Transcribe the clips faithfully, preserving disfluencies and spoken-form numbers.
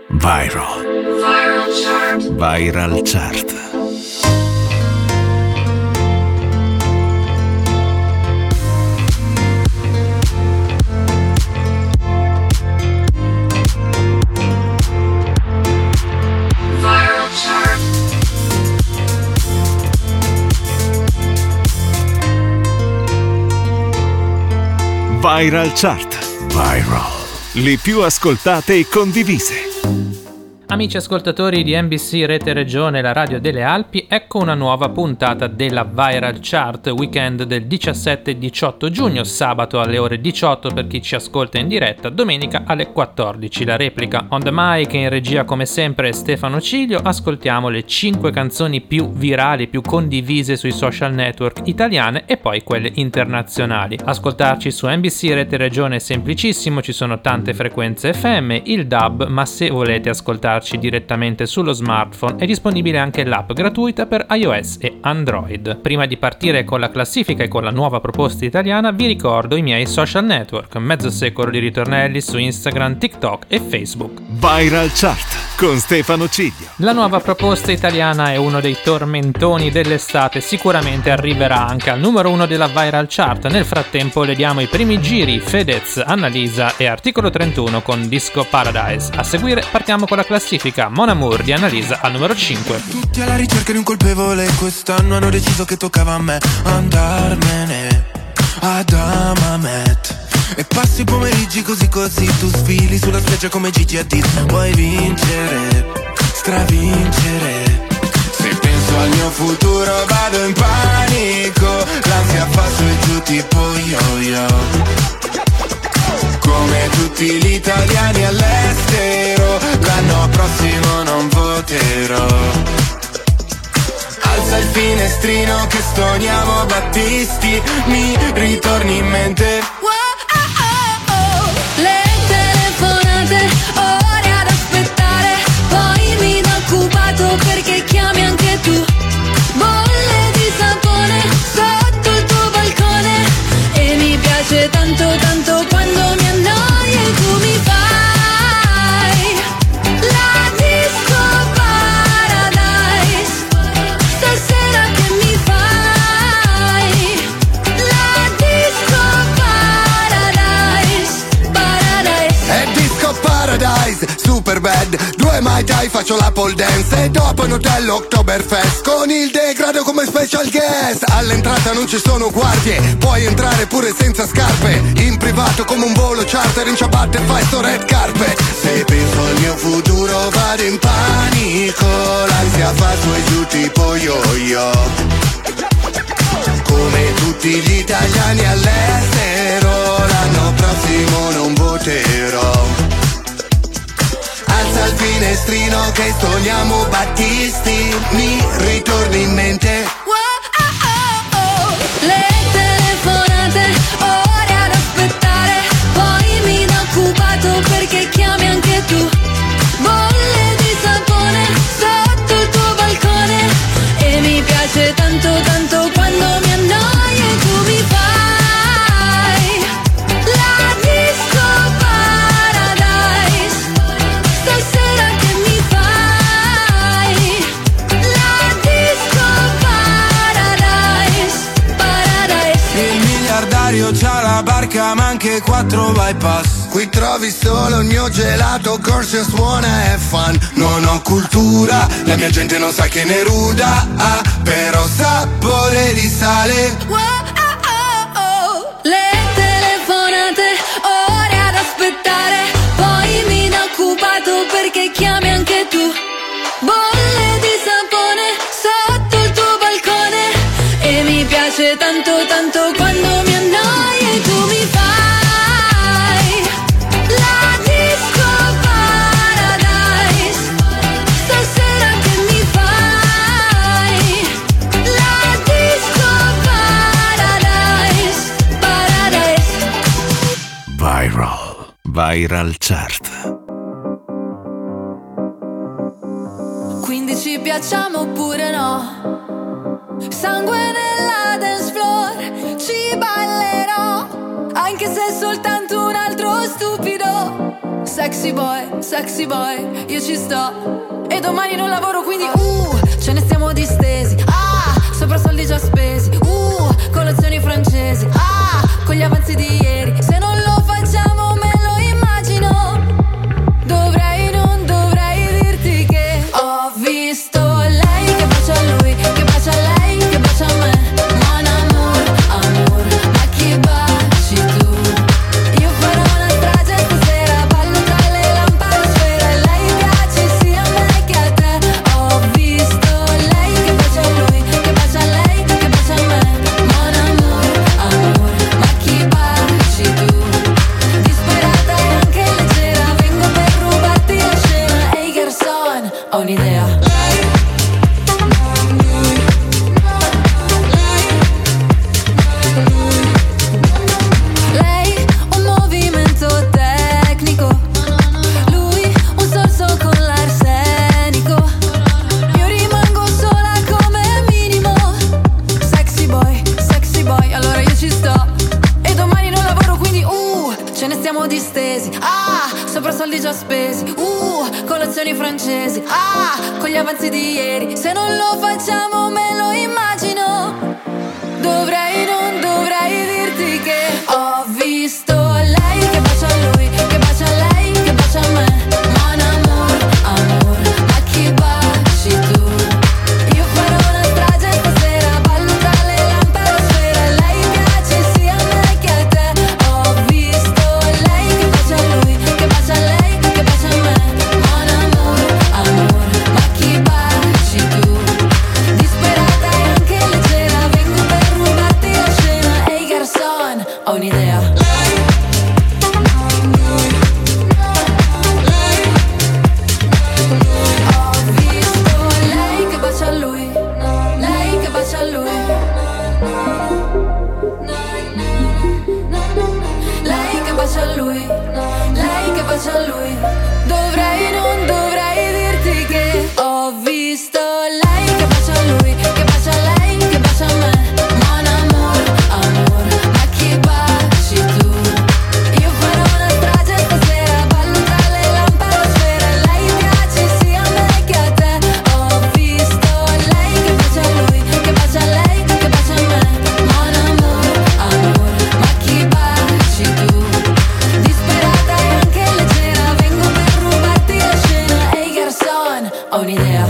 Viral. Viral Chart. Viral Chart. Viral Chart. Viral. Le più ascoltate e condivise. Amici ascoltatori di N B C Rete Regione, la radio delle Alpi, ecco una nuova puntata della Viral Chart, weekend del diciassette e diciotto giugno, sabato alle ore diciotto per chi ci ascolta in diretta, domenica alle quattordici la replica. On the mic e in regia come sempre Stefano Ciglio, ascoltiamo le cinque canzoni più virali, più condivise sui social network italiane e poi quelle internazionali. Ascoltarci su N B C Rete Regione è semplicissimo, ci sono tante frequenze F M, il D A B, ma se volete ascoltarci direttamente sullo smartphone è disponibile anche l'app gratuita per iOS e Android. Prima di partire con la classifica e con la nuova proposta italiana vi ricordo i miei social network, mezzo secolo di ritornelli su Instagram, TikTok e Facebook. Viral Chart con Stefano Ciglio. La nuova proposta italiana è uno dei tormentoni dell'estate, sicuramente arriverà anche al numero uno della Viral Chart. Nel frattempo le diamo i primi giri: Fedez, Annalisa e Articolo trentuno con Disco Paradise. A seguire partiamo con la classifica. Mon Amour di Annalisa al numero cinque. Tutti alla ricerca di un colpevole, quest'anno hanno deciso che toccava a me andarmene ad Amamet. E passi i pomeriggi così così, tu sfili sulla spiaggia come Gigi Hadid. Vuoi vincere, stravincere. Se penso al mio futuro vado in panico, l'ansia fa su e giù tipo yo-yo. Come tutti gli italiani all'estero, l'anno prossimo non voterò. Alza il finestrino che stoniamo Battisti, mi ritorni in mente. Wow, oh, oh, oh. Le telefonate, ore ad aspettare, poi mi do occupato perché chiami anche tu. Bolle di sapone sotto il tuo balcone, e mi piace tanto tanto quando mi annoi e tu mi fai la disco paradise. Stasera che mi fai la disco paradise. Paradise. È disco paradise, super bad. Due mai dai, faccio la pole dance. E dopo in hotel Oktoberfest con il degrado come special guest. All'entrata non ci sono guardie, puoi entrare pure senza scarpe. In privato come un volo charter, in ciabatte fai sto red carpet. Se penso al mio futuro vado in panico, l'ansia fa su e giù tipo yo-yo. Come tutti gli italiani all'estero, l'anno prossimo non voterò. Alza il finestrino che stoniamo Battisti, mi ritorni in mente. Wow, oh, oh, oh. Le telefonate, ore ad aspettare, poi mi do occupato perché chiami anche tu. Bolle di sapone sotto il tuo balcone, e mi piace tanto tanto quando mi annoi e tu mi fai la disco paradise. Stasera che mi fai la disco paradise. Paradise. Il miliardario c'ha la barca ma anche quattro bypass. Qui trovi solo il mio gelato, corso suona e fun. Non ho cultura, la mia gente non sa che ne ruda, ah, però sapore di sale. Wow, oh, oh, oh. Le telefonate, ore ad aspettare, poi mi do occupato perché chiami anche tu. Bolle di sapone sotto il tuo balcone, e mi piace tanto tanto quando mi annoi e tu mi fai la disco paradise. Stasera che mi fai la disco paradise. Paradise. Viral. Viral Chart. Quindi ci piacciamo oppure no? Sangue nella dance floor, ci ballerò, anche se è soltanto un altro stupido. sexy boy, sexy boy, io ci sto. E domani non lavoro quindi uh, ce ne stiamo distesi. Ah, sopra soldi già spesi. Uh, colazioni francesi. Ah, con gli avanzi di ieri. Se non lo facciamo me lo immagino. Dovrei, non dovrei dirti che ho visto lei che bacia a lui, che bacia a lei, che bacia a me. Mon amour, amour, ma chi baci tu? Io farò una strage stasera, ballo tra le lampadosfere. Lei piace sia a me che a te. Ho visto lei che bacia a lui, che bacia a lei, che bacia a me. Mon amour, amour, ma chi baci tu? Disperata e anche leggera, vengo per rubarti la scena. Ehi garçon, ho un'idea. Lei un movimento tecnico, lui un sorso con l'arsenico. Io rimango sola come minimo. Sexy boy, sexy boy, allora io ci sto. E domani non lavoro quindi uh, ce ne stiamo distesi. Ah, sopra soldi già spesi. Uh, colazioni francesi. Ah, con gli avanzi di ieri. Se non lo facciamo me lo immagino. Dovrei, non dovrei dirti che ho visto lei che bacia a lui, che bacia a lei, che bacia a me. Mon amour, amour, ma chi baci tu? Io farò una strage stasera, ballo tra le lampadosfere. Lei piace sia a me che a te. Ho visto lei che bacia a lui, che bacia a lei, che bacia a me. Mon amour, amour, ma chi baci tu? Disperata e anche leggera, vengo per rubarti la scena. Ehi garçon, ho un'idea. Ho visto lei che bacia a lui, lei che bacia a lui. Lei che bacia a lui, lei che bacia a lui. Dovrei, non dovrei dirti che ho visto lei che bacia a lui, che bacia a lei, che bacia a me. Mon amour, amour, ma chi baci tu? Io farò una strage stasera, ballo tra le lampadosfere. Lei piace sia a me che a te. Ho visto lei che bacia a lui, che bacia a lei, che bacia a me. Mon amour, amour, ma chi baci tu? Disperata e anche leggera, vengo per rubarti la scena. Ehi garçon, ho un'idea.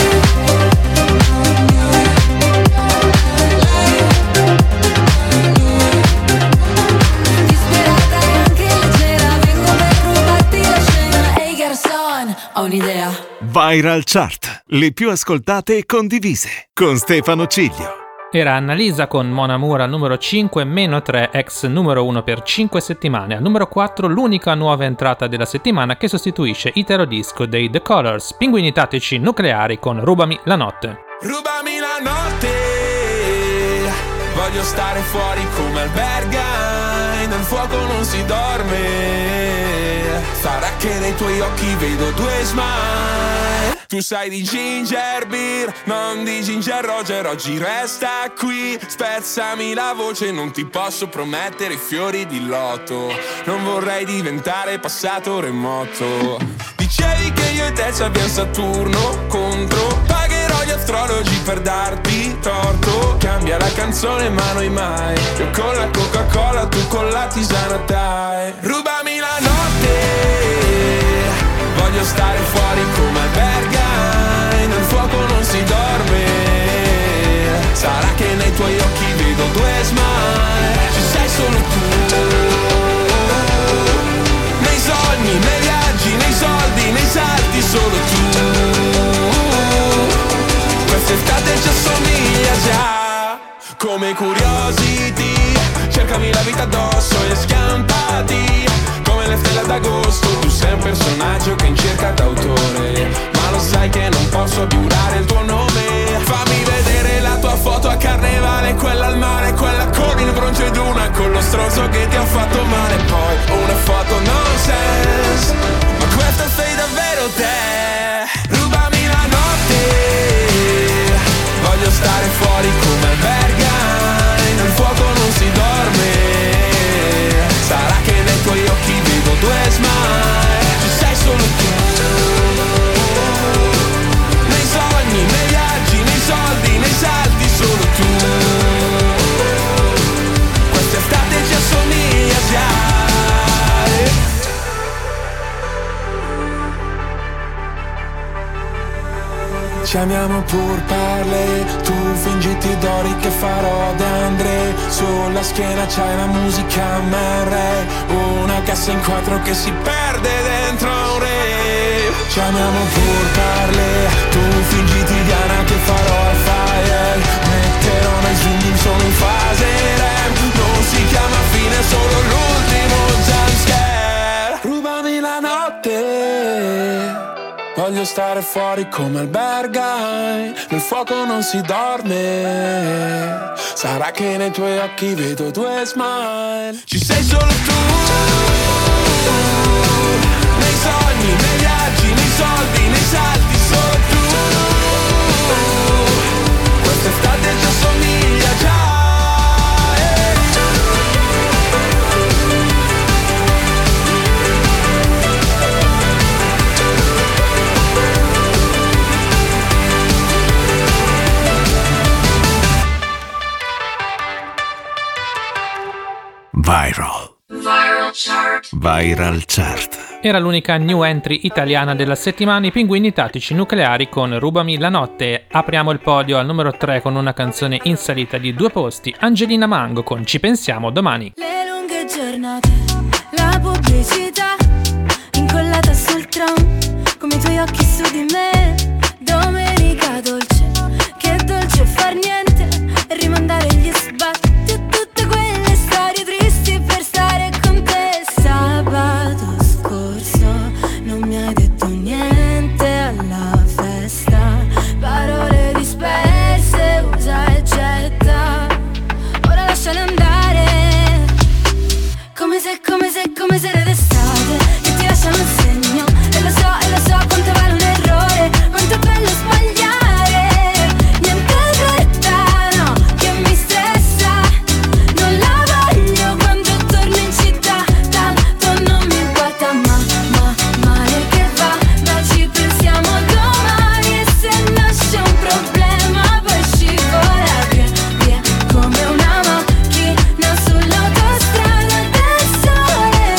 Disperata e anche leggera, vengo per rubarti la scena. Ehi garçon, ho un'idea. Viral Chart, le più ascoltate e condivise, con Stefano Ciglio. Era Annalisa con Mon Amour al numero cinque, meno tre, ex numero uno per cinque settimane. Al numero quattro l'unica nuova entrata della settimana che sostituisce Italo Disco dei The Colors, Pinguini Tattici Nucleari con Rubami la notte. Rubami la notte, voglio stare fuori come albergai, nel fuoco non si dorme, sarà che nei tuoi occhi vedo due smile. Tu sai di ginger beer, non di ginger Roger, oggi resta qui, spezzami la voce, non ti posso promettere i fiori di loto, non vorrei diventare passato remoto. Dicevi che io e te ci abbiamo Saturno contro, pagherò gli astrologi per darti torto, cambia la canzone ma noi mai, io con la Coca-Cola, tu con la tisana Thai. Rubami la notte, voglio stare fuori come albergai, nel fuoco non si dorme, sarà che nei tuoi occhi vedo due smile, ci sei solo tu, nei sogni, nei viaggi, nei soldi, nei salti solo tu, quest'estate ci assomiglia già, come Curiosity, cercami la vita addosso e schiampati, come le stelle d'agosto, tu sei un personaggio che in cerca d'autore, ma lo sai che non posso giurare il tuo nome, fammi vedere la tua foto a carnevale, quella al mare, quella con il bronzo ed una con lo stronzo che ti ha fatto male, poi una foto nonsense, ma questa sei davvero te, rubami la notte, voglio stare fuori come albergai, nel fuoco non si dorme, sarà che nei tuoi occhi vedo due smile, Ci amiamo pur parle, tu fingiti d'ori che farò d'Andre. Sulla schiena c'hai la musica M R, una cassa in quattro che si perde dentro un rave. Ci amiamo pur parle, tu fingiti Diana che farò al fire. Metterò nei zoom solo in fase rem, non si chiama fine, solo l'ultimo jumpscare. Rubami la notte, voglio stare fuori come al Berghain. Nel fuoco non si dorme, sarà che nei tuoi occhi vedo due smile. Ci sei solo tu, nei sogni, nei viaggi, nei soldi, nei salti, solo tu. Quest'estate già somiglia già. Viral. Viral Chart. Viral Chart. Era l'unica new entry italiana della settimana, i Pinguini Tattici Nucleari con Rubami la notte. Apriamo il podio al numero tre con una canzone in salita di due posti, Angelina Mango con Ci pensiamo domani. Le lunghe giornate, la pubblicità incollata sul tram, come i tuoi occhi su di me. Domenica dolce, che dolce far niente e rimandare gli sbatti a tutte quelle storie tristi per stare con te. Sabato scorso non mi hai detto niente alla festa, parole disperse, usa e getta. Ora lasciale andare, come se, come se, come se era estate, che ti lasciano il segno. E lo so, e lo so quanto vale un errore, quanto è bello sbagliare. Niente fretta, no, che mi stressa. Non la voglio quando torno in città, tanto non mi importa, ma, ma, male che va. Ma ci pensiamo domani, e se nasce un problema poi scivola via, via, come una macchina sull'autostrada del sole,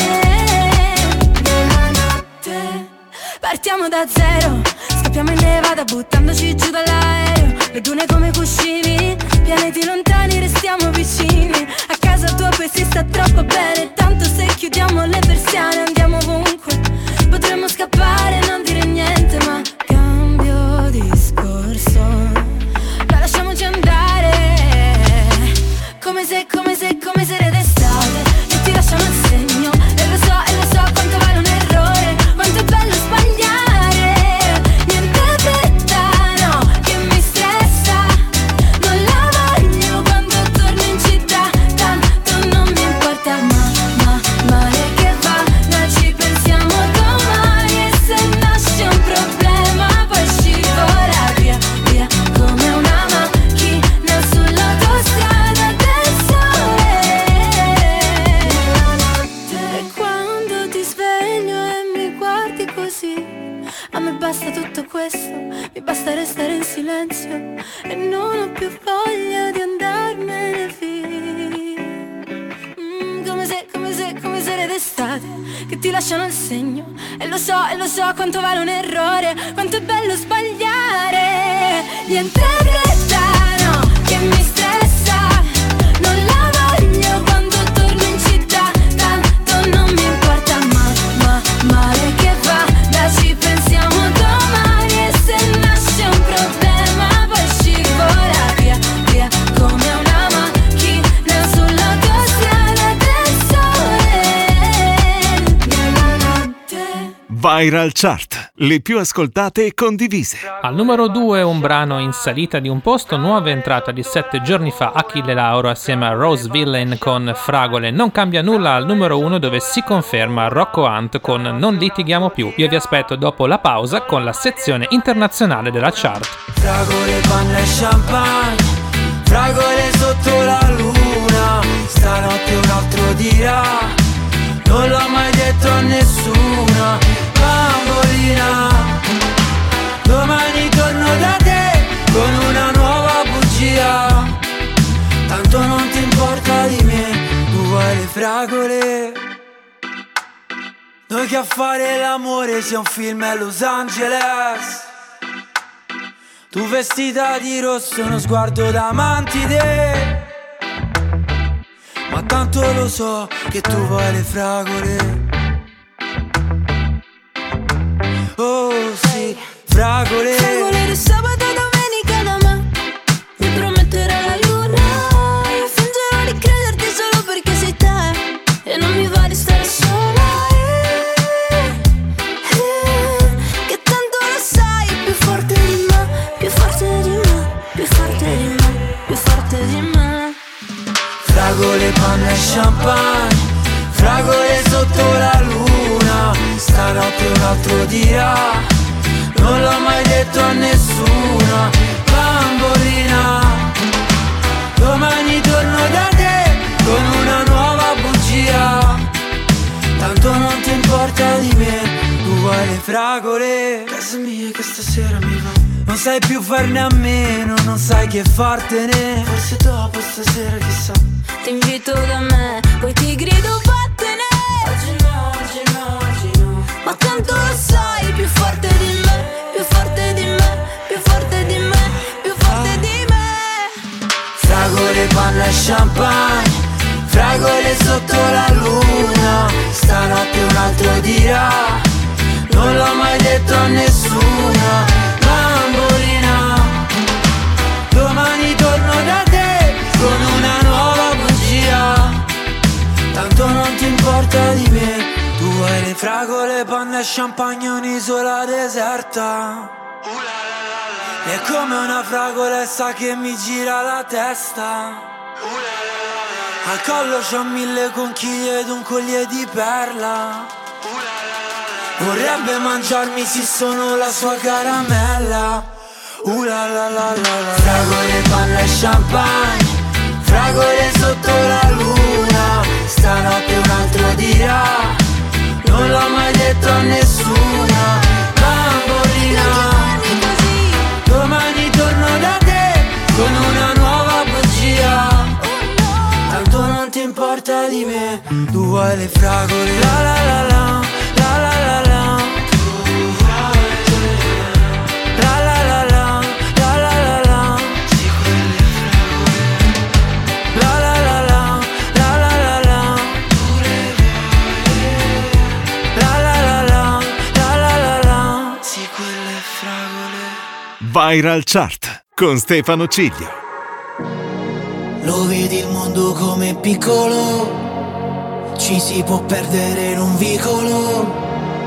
della notte. Partiamo da zero, scappiamo in Nevada buttandoci giù dall'aereo. Le dune come cuscini, pianeti lontani restiamo vicini. A casa tua poi si sta troppo bene, tanto se chiudiamo le persiane andiamo ovunque. Potremmo scappare e non dire niente, ma cambio discorso, la lasciamoci andare, come se, come se, come se era d'estate, e ti lasciano il segno. E lo so, e lo so quanto vale un errore, quanto è bello sbagliare. Niente fretta, no, che mi stressa. Non la voglio quando torno in città, tanto non mi importa, ma, ma, male che va. Ma ci pensiamo domani, e se nasce un problema poi scivola via, via, come una macchina sull'autostrada del sole, della notte. E quando ti sveglio e mi guardi così, a me basta tutto questo, mi basta restare in silenzio e non ho più voglia di andarmene via. Mm, come se, come se, come se era d'estate, che ti lasciano il segno. E lo so, e lo so quanto vale un errore, quanto è bello sbagliare. Niente fretta, no, che mi stressa. Non la voglio quando torno in città, tanto non mi importa, ma, ma, male che va. Da ci pensiamo domani, e se nasce un problema poi scivola via, via, come una macchina sull'autostrada del sole, nella notte. Viral Chart. Le più ascoltate e condivise. Al numero due un brano in salita di un posto, nuova entrata di sette giorni fa, Achille Lauro assieme a Rose Villain con Fragole. Non cambia nulla al numero uno, dove si conferma Rocco Hunt con Non litighiamo più. Io vi aspetto dopo la pausa con la sezione internazionale della chart. Fragole, panna e champagne, fragole sotto la luna. Stanotte un altro dirà, non l'ho mai detto a nessuna. Bambolina, domani torno da te con una nuova bugia. Tanto non ti importa di me, tu vuoi le fragole. Noi che a fare l'amore sia un film a Los Angeles. Tu vestita di rosso, uno sguardo da mantide. Ma tanto lo so che tu vuoi le fragole. Oh sì, fragole. Fragole di sabato e domenica da me. Mi prometterai la luna. Io fingerò di crederti solo perché sei te. E non mi va di stare sola. eh, eh, Che tanto lo sai, più forte di me. Più forte di me, più forte di me, più forte di me. Fragole, panna e champagne, fragole sotto la luna. Stanotte un altro dirà, non l'ho mai detto a nessuna. Bambolina, domani torno da te con una nuova bugia. Tanto non ti importa di me, tu vuoi le fragole. Casa mia che stasera mi va. Non sai più farne a meno, non sai che fartene. Forse dopo stasera chissà. Ti invito da me, poi ti grido vattene. Oggi no, oggi no, oggi no. Ma tanto lo sai, più forte di me, più forte di me, più forte di me, più forte di me. Fragole, panna e champagne, fragole sotto la luna. Stanotte un altro dirà, non l'ho mai detto a nessuna. Bambolina, domani torno da te con una nuova bugia. Tanto non ti importa di me, tu vuoi le fragole, panna e champagne, un'isola deserta. È come una fragolessa che mi gira la testa. Al collo c'ho mille conchiglie ed un collier di perla. Vorrebbe mangiarmi se sono la sua caramella. Uh la la la la la. Fragole, panna e champagne, fragole sotto la luna. Stanotte un altro dirà, non l'ho mai detto a nessuna. Bambolina, domani torno da te con una nuova bugia. Tanto non ti importa di me, tu vuoi le fragole. La la la la, la la la la. La la la la, la la la la. La la la la, la la la la. La la la la, la la la la. Sì, quelle fragole. Viral Chart con Stefano Ciglio. Lo vedi il mondo come piccolo, ci si può perdere in un vicolo.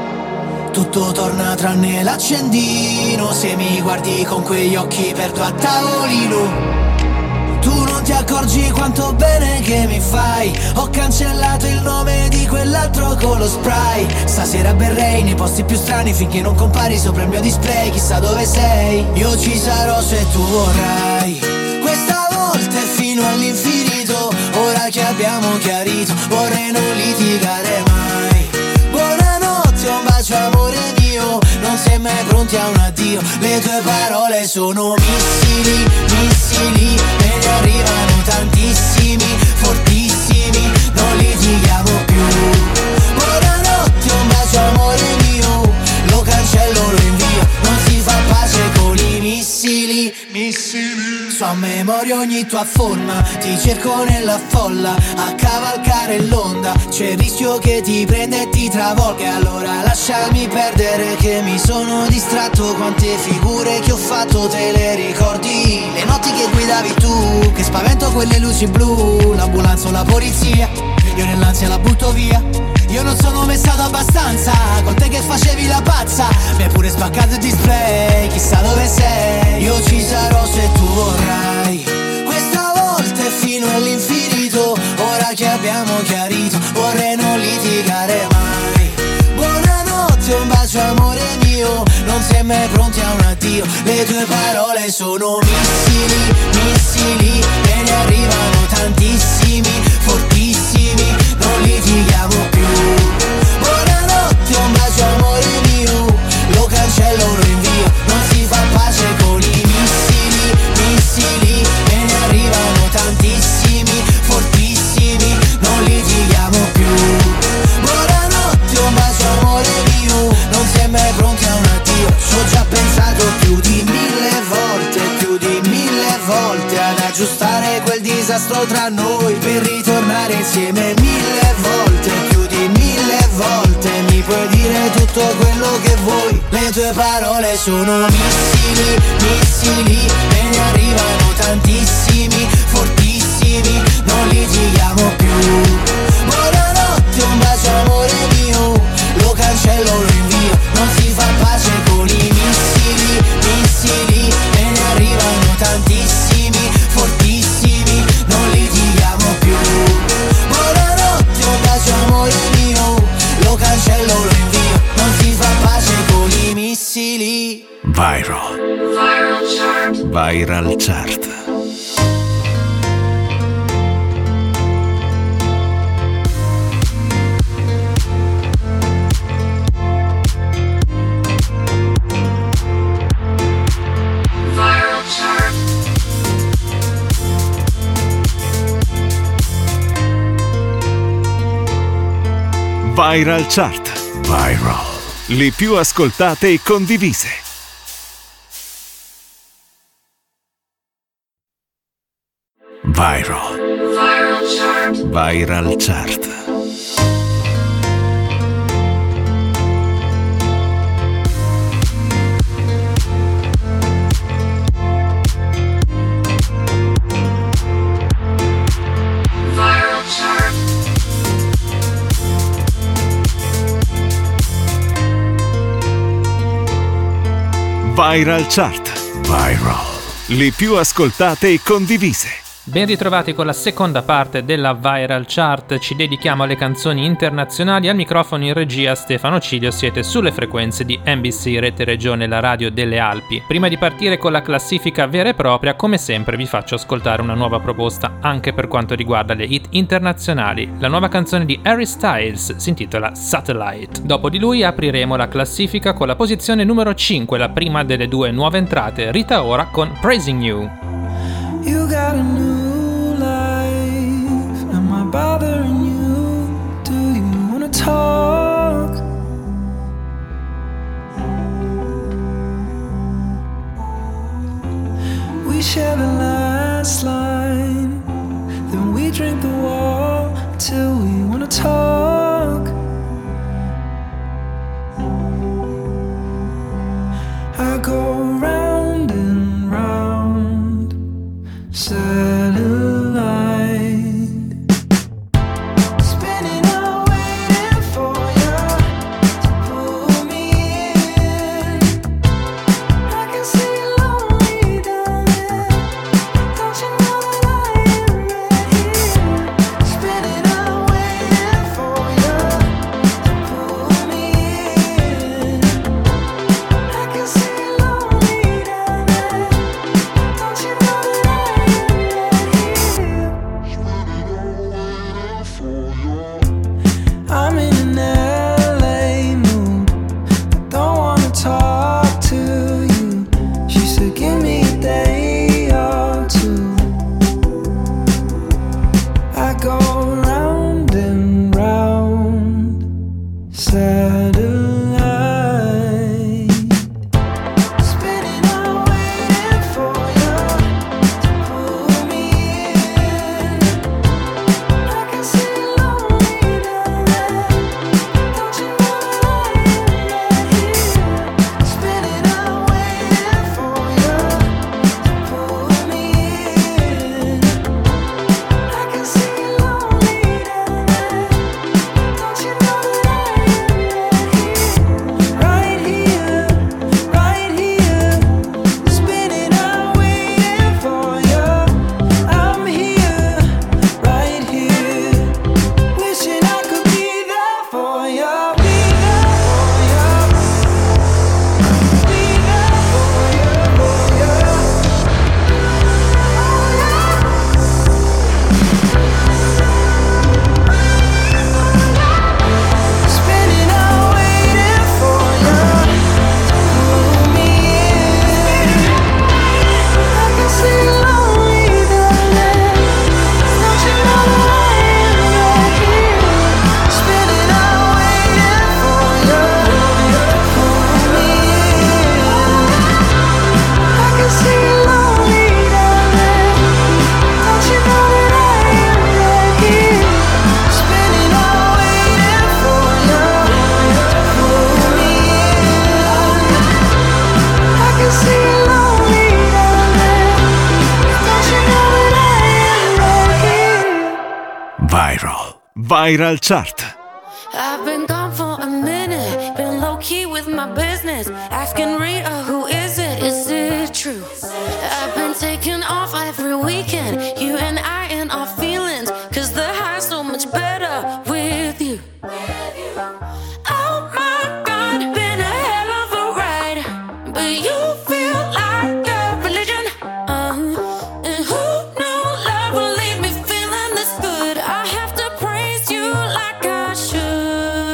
Tutto torna tranne l'accendino, se mi guardi con quegli occhi perdo a tavolino. Tu non ti accorgi quanto bene che mi fai. Ho cancellato il nome di quell'altro con lo spray. Stasera berrei nei posti più strani finché non compari sopra il mio display. Chissà dove sei, io ci sarò se tu vorrai. Questa volta è fino all'infinito, ora che abbiamo chiarito, vorrei non litigare mai. Buonanotte, un bacio amore mio, non sei mai pronti a un addio. Le tue parole sono missili, missili, e ne arrivano tantissimi, fortissimi, non litighiamo più. Buonanotte, un bacio amore mio, lo cancello, lo invio, non si fa pace con i missili, missili. So a memoria ogni tua forma, ti cerco nella folla, a cavalcare l'onda, c'è il rischio che ti prenda e ti travolga. Allora lasciami perdere che mi sono distratto, quante figure che ho fatto te le ricordi? Le notti che guidavi tu, che spavento quelle luci blu, l'ambulanza o la polizia, io nell'ansia la butto via. Io non sono mai stato abbastanza, con te che facevi la pazza, mi hai pure spaccato il display, chissà dove sei, io ci sarò se tu vorrai. Questa volta è fino all'infinito, ora che abbiamo chiarito, vorrei non litigare mai. Buonanotte, un bacio amore mio, non sei mai pronti a un addio. Le tue parole sono missili, missili, e ne arrivano tantissimi, fortissimi, non litighiamo più. Buonanotte, un bacio amore mio, lo cancello, lo invio, non si fa pace con i missili, missili, e ne arrivano tantissimi, fortissimi, non litighiamo più. Buonanotte, un bacio amore mio, non sei mai pronti a un addio, ci ho già pensato più di mille volte. disastro tra noi, per ritornare insieme mille volte, più di mille volte. Mi puoi dire tutto quello che vuoi, le tue parole sono missili, missili, e ne arrivano tantissimi, fortissimi, non litighiamo più. Buonanotte, un bacio amore mio, lo cancello, lo invio, non si fa pace con i missili, missili, e ne arrivano tantissimi, fortissimi, non litighiamo più. Buonanotte, un bacio amore mio, lo cancello, lo invio, non si fa pace con i missili. Viral. Viral Chart. Viral Chart. Viral Chart. Viral. Le più ascoltate e condivise. Viral. Viral Chart. Viral Chart. Viral Chart. Viral. Le più ascoltate e condivise. Ben ritrovati con la seconda parte della Viral Chart, ci dedichiamo alle canzoni internazionali. Al microfono in regia Stefano Cilio, siete sulle frequenze di N B C Rete Regione, la radio delle Alpi. Prima di partire con la classifica vera e propria, come sempre vi faccio ascoltare una nuova proposta anche per quanto riguarda le hit internazionali. La nuova canzone di Harry Styles si intitola Satellite. Dopo di lui apriremo la classifica con la posizione numero cinque, la prima delle due nuove entrate, Rita Ora con Praising You. You got a new life. Am I bothering you? Do you wanna talk? We share the last line, then we drink the wall till we wanna talk. I go round and round, satellite, spinning out waiting for you to pull me in. I can see you lonely down there, don't you know that I am right here, spinning out waiting for Viral Chart. I've been gone for a minute, been low key with my business. Asking Rita, who is it? Is it true? I've been taking off every weekend, you and I in our feelings, cause the high's so much better with you. Oh my God, been a hell of a ride, but you feel like a religion. Uh-huh. And who knew love will leave me feeling this good? I have to praise you like I should.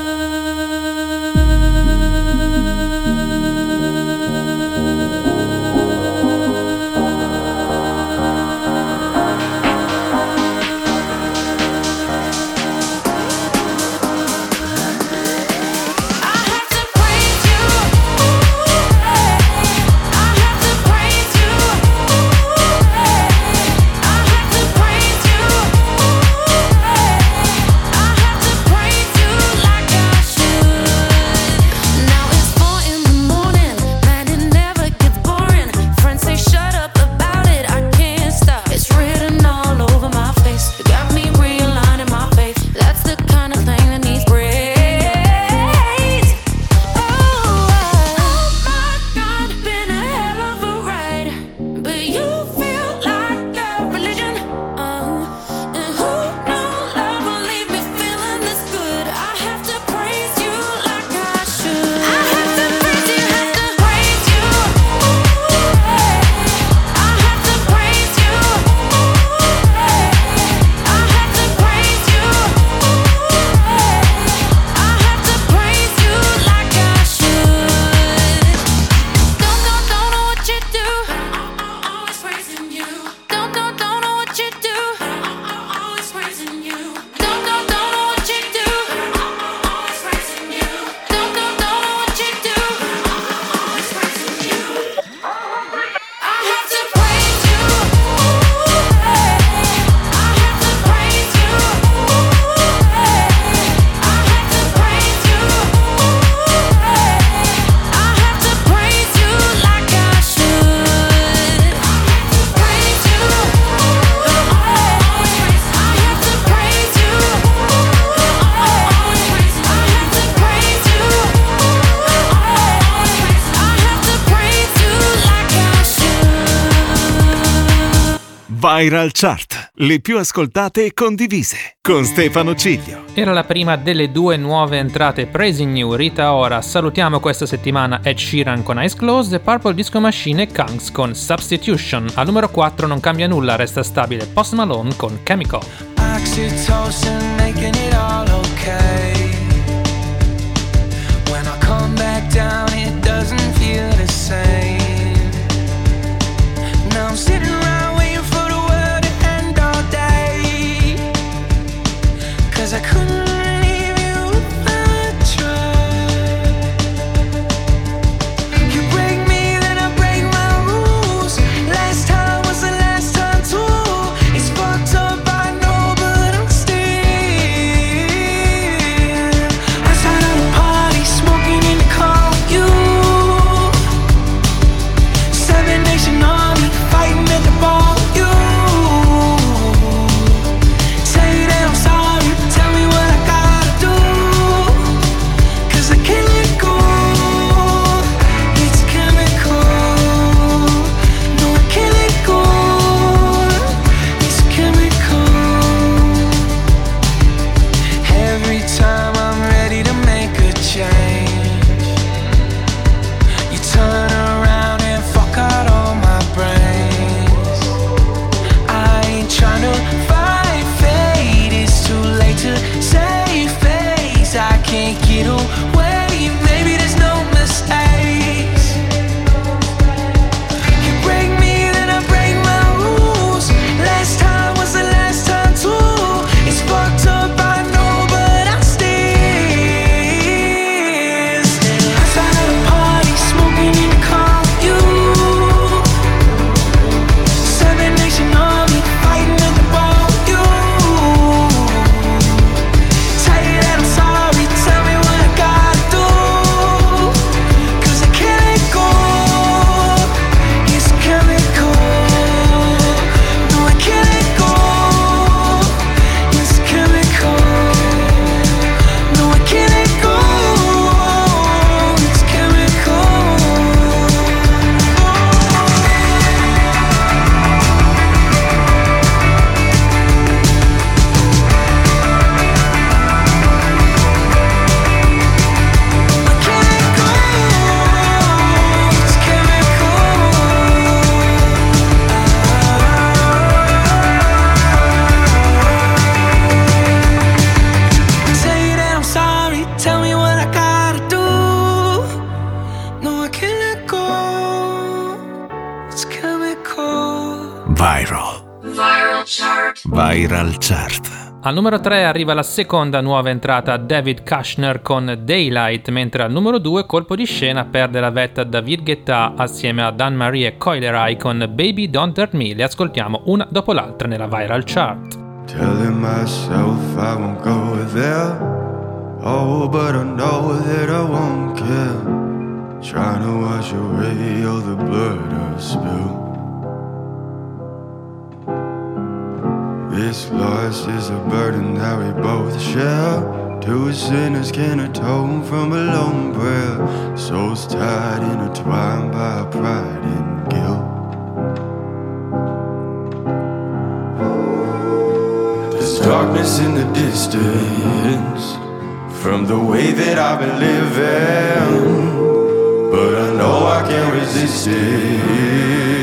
Viral Chart, le più ascoltate e condivise, con Stefano Ciglio. Era la prima delle due nuove entrate Praising You, Rita Ora. Salutiamo questa settimana Ed Sheeran con Eyes Closed e Purple Disco Machine e Kungs con Substitution. Al numero quattro non cambia nulla, resta stabile Post Malone con Chemical. Oxytocin making it all okay. When I come back down it doesn't feel the same. Now I'm sitting around waiting for the world to end all day, 'cause I couldn't leave you if I tried. You break me then I break my rules. Last time was the last time too. It's fucked up I know but I'm still outside of the party smoking in the car with you. Viral. Viral Chart. Viral Chart. Al numero tre arriva la seconda nuova entrata David Kushner con Daylight, mentre al numero due colpo di scena perde la vetta David Guetta assieme a Dan Marie e Coileray con Baby Don't Hurt Me. Le ascoltiamo una dopo l'altra nella Viral Chart. Telling myself I won't go there. Oh, but I know that I won't care. Trying to wash away all the blood I spilled. This loss is a burden that we both share. Two sinners can atone from a lone prayer. Souls tied, intertwined by pride and guilt. There's darkness in the distance from the way that I've been living, but I know I can't resist it.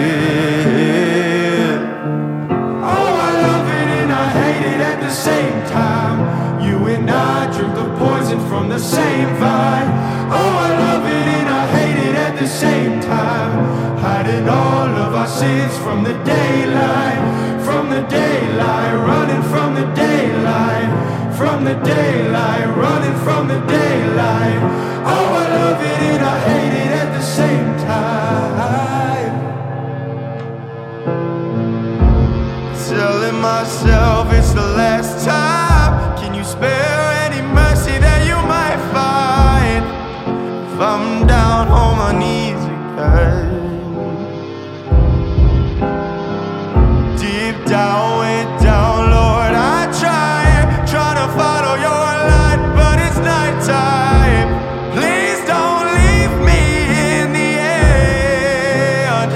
At the same time, you and I drink the poison from the same vine. Oh, I love it and I hate it at the same time. Hiding all of our sins from the daylight, from the daylight, running from the daylight, from the daylight, running from the daylight. Oh, I love it and I hate it at the same time. Telling myself it's the last time. Can you spare any mercy that you might find if I'm down on my knees again? Deep down, way down, Lord, I try, try to follow your light, but it's nighttime. Please don't leave me in the end.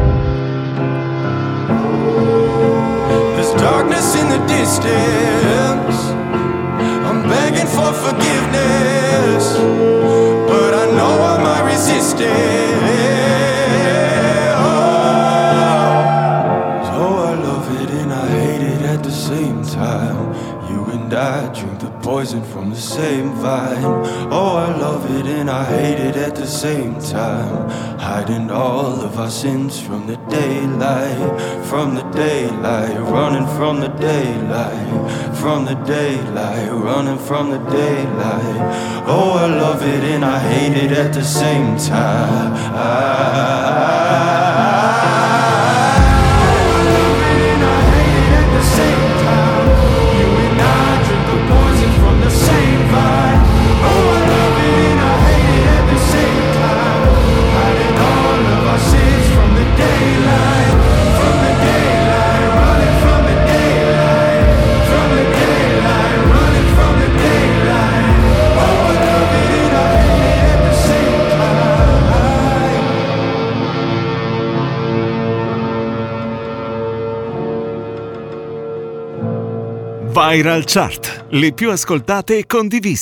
Darkness in the distance, I'm begging for forgiveness, but I know I might resist it. Oh, so I love it and I hate it at the same time. You and I drink the poison from the same vine. Oh, I love it and I hate it at the same time. Hiding all of our sins from the daylight, from the daylight, running from the daylight, from the daylight, running from the daylight. Oh, I love it and I hate it at the same time. I Viral Chart, le più ascoltate e condivise.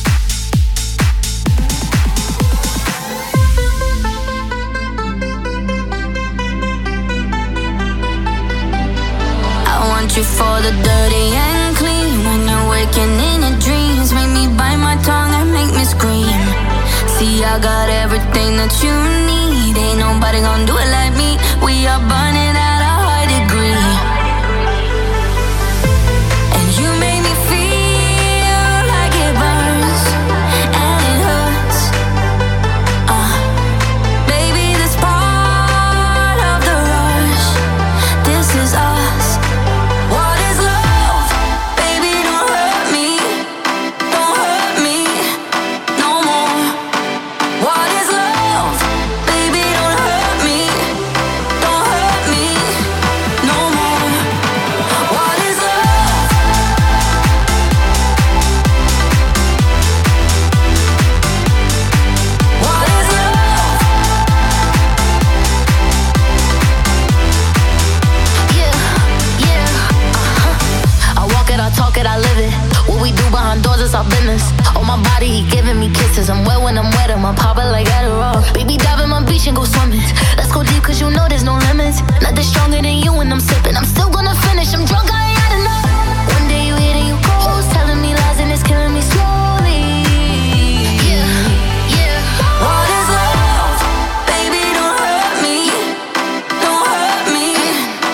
I want you for the dirty and clean. When you're waking in your dreams, make me bite my tongue and make me scream. See, I got everything that you need. Ain't nobody gonna do it like me. We are burning at a high degree. Our business. On my body, he giving me kisses. I'm wet when I'm wet, I'm popping like Adderall. Baby, dive in my beach and go swimming. Let's go deep, cause you know there's no limits. Nothing stronger than you when I'm sipping. I'm still gonna finish, I'm drunk, I ain't had enough. One day you hit and you go, telling me lies and it's killing me slowly. Yeah, yeah. What is love? Baby, don't hurt me. Don't hurt me.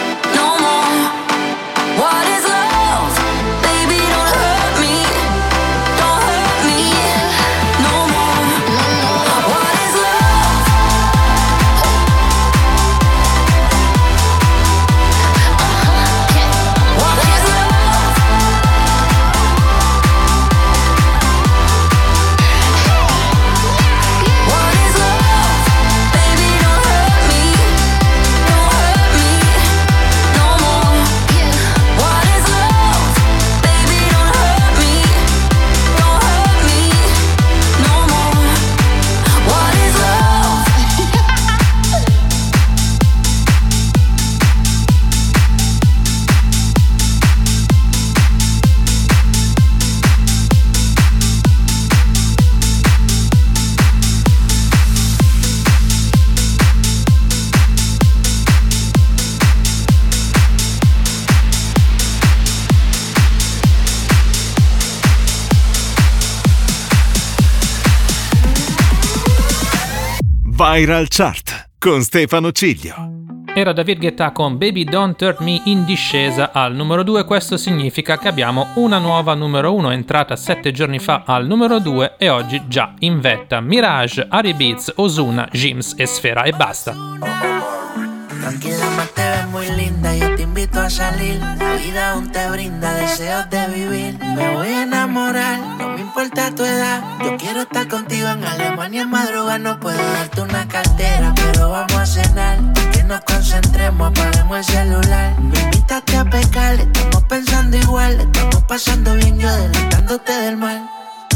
Viral Chart con Stefano Ciglio. Era David Guetta con Baby Don't Hurt Me in discesa al numero due. Questo significa che abbiamo una nuova numero uno, entrata sette giorni fa al numero due e oggi già in vetta. Mirage, Ari Beats, Ozuna, Jims e Sfera e basta. Tranquila, más te ves muy linda, yo te invito a salir. La vida aún te brinda deseos de vivir. Me voy a enamorar, no me importa tu edad. Yo quiero estar contigo en Alemania en madrugada. No puedo darte una cartera, pero vamos a cenar. Que nos concentremos, apaguemos el celular. Me invitaste a pecar, estamos pensando igual. Estamos pasando bien, yo adelantándote del mal.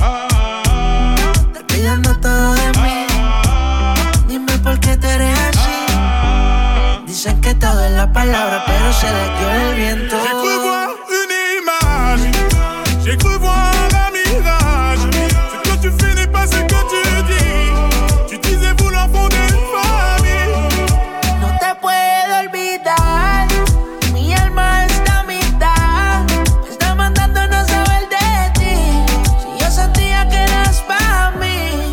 Te pidiendo todo de mí. Dime por qué tú eres así. Dicen que todo es la palabra, pero se les dio el viento. J'ai cru voir une image, j'ai cru voir un mirage. Ce que tu fais n'est pas ce que tu dis. Tu disais vouloir fonder une famille. No te puedo olvidar, mi alma está a mitad. Me está mandando no saber de ti. Si yo sentía que eras para mí.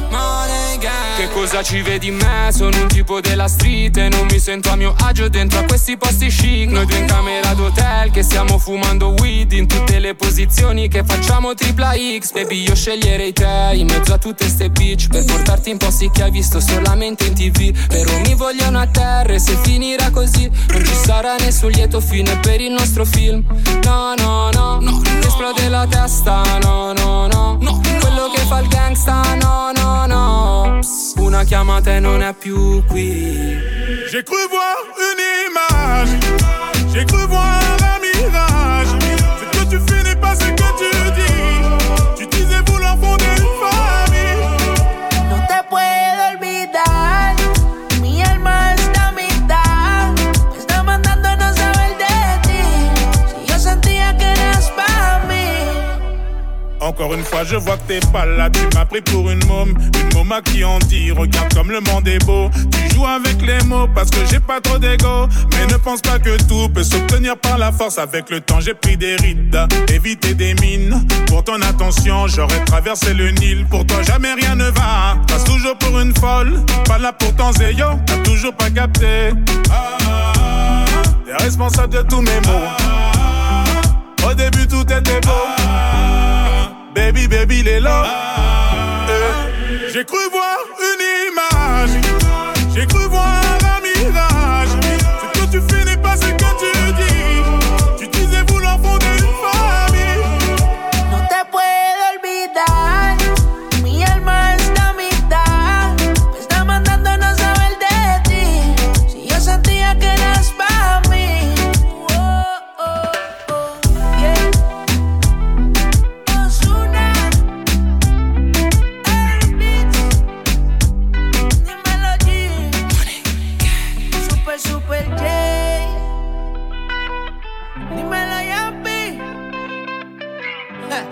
Che cosa ci vedi in me? Sono un tipo della street e non mi sento a mio agio dentro a questi posti chic. Noi due in camera d'hotel che stiamo fumando weed in tutte le posizioni che facciamo tripla X. Baby, io sceglierei te in mezzo a tutte ste bitch per portarti in posti che hai visto solamente in tv. Però mi vogliono a terra e se finirà così non ci sarà nessun lieto fine per il nostro film. No, no, no, no, ti esplode la testa. No, no, no, no, quello che fa il gangsta. No, no, no, psst, una chiamata e non è più qui. J'ai cru voir une image, j'ai cru voir un mirage. Ce que tu fais n'est pas ce que tu dis. Tu disais vouloir fonder une famille. No te puedo olvidar, mi alma está a mitad. Me está mandando no saber de ti. Si yo sentía que eras para mí. Encore une fois, je vois que t'es pas là. Tu m'as pris pour une môme, une môme à qui on dit regarde comme le monde est beau. Tu joues avec les mots parce que j'ai pas trop d'ego. Mais ne pense pas que tout peut s'obtenir par la force. Avec le temps, j'ai pris des rides, évité des mines. Pour ton attention, j'aurais traversé le Nil. Pour toi, jamais rien ne va. Passe toujours pour une folle, pas là pour ton zéyo. T'as toujours pas capté. T'es responsable de tous mes mots. Au début, tout était beau. Baby, baby, les lots. Eh. J'ai cru voir une image, j'ai cru voir un mirage. Ce que tu fais n'est pas ce que tu dis. Tu disais vouloir fonder une famille. No te puedo olvidar, mi alma está a mitad. Me está mandando no saber de ti. Si yo sentía que eras para mí. Oh, oh, oh, yeah. Ozuna, Ari Beats, dímelo G. Super, super J. Dímelo Yampi. Ja.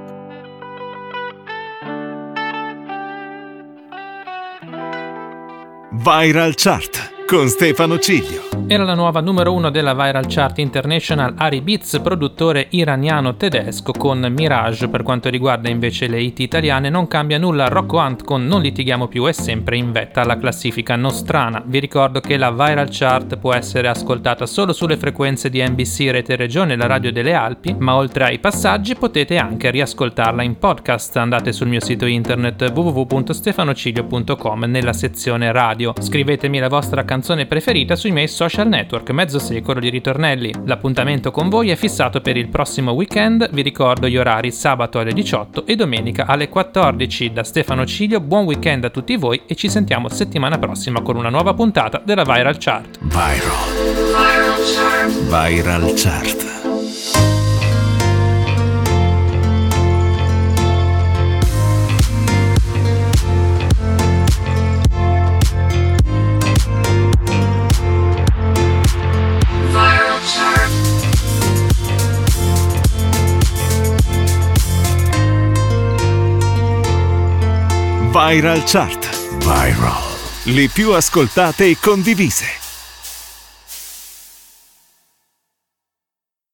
Viral Chart con Stefano Ciglio. Era la nuova numero uno della Viral Chart International Ari Beats, produttore iraniano-tedesco, con Mirage. Per quanto riguarda invece le hit italiane non cambia nulla. Rocco Hunt con Non litighiamo più è sempre in vetta alla classifica nostrana. Vi ricordo che la Viral Chart può essere ascoltata solo sulle frequenze di N B C Rete Regione, la radio delle Alpi, ma oltre ai passaggi potete anche riascoltarla in podcast. Andate sul mio sito internet w w w punto stefanociglio punto com nella sezione radio. Scrivetemi la vostra canzone preferita sui miei social network, mezzo secolo di ritornelli. L'appuntamento con voi è fissato per il prossimo weekend. Vi ricordo gli orari: sabato alle diciotto e domenica alle quattordici. Da Stefano Ciglio, buon weekend a tutti voi e ci sentiamo settimana prossima con una nuova puntata della Viral Chart. Viral. Viral Chart. Viral Chart. Viral Chart. Viral. Le più ascoltate e condivise.